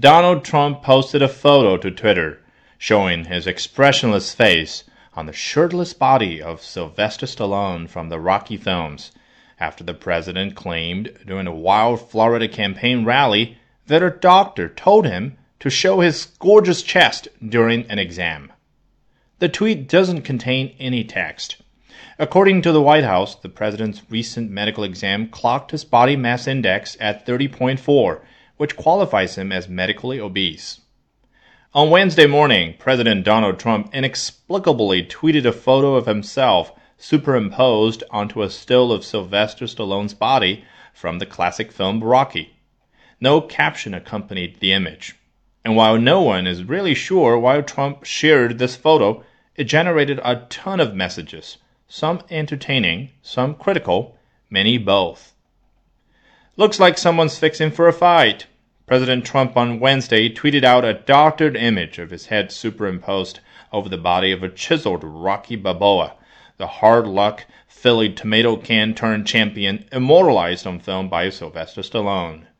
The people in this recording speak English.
Donald Trump posted a photo to Twitter showing his expressionless face on the shirtless body of Sylvester Stallone from the Rocky films, after the president claimed during a wild Florida campaign rally that a doctor told him to show his gorgeous chest during an exam. The tweet doesn't contain any text. According to the White House, the president's recent medical exam clocked his body mass index at 30.4, which qualifies him as medically obese. On Wednesday morning, President Donald Trump inexplicably tweeted a photo of himself superimposed onto a still of Sylvester Stallone's body from the classic film Rocky. No caption accompanied the image. And while no one is really sure why Trump shared this photo, it generated a ton of messages, some entertaining, some critical, many both. Looks like someone's fixing for a fight. President Trump on Wednesday tweeted out a doctored image of his head superimposed over the body of a chiseled Rocky Balboa, the hard-luck Philly tomato can-turned champion immortalized on film by Sylvester Stallone.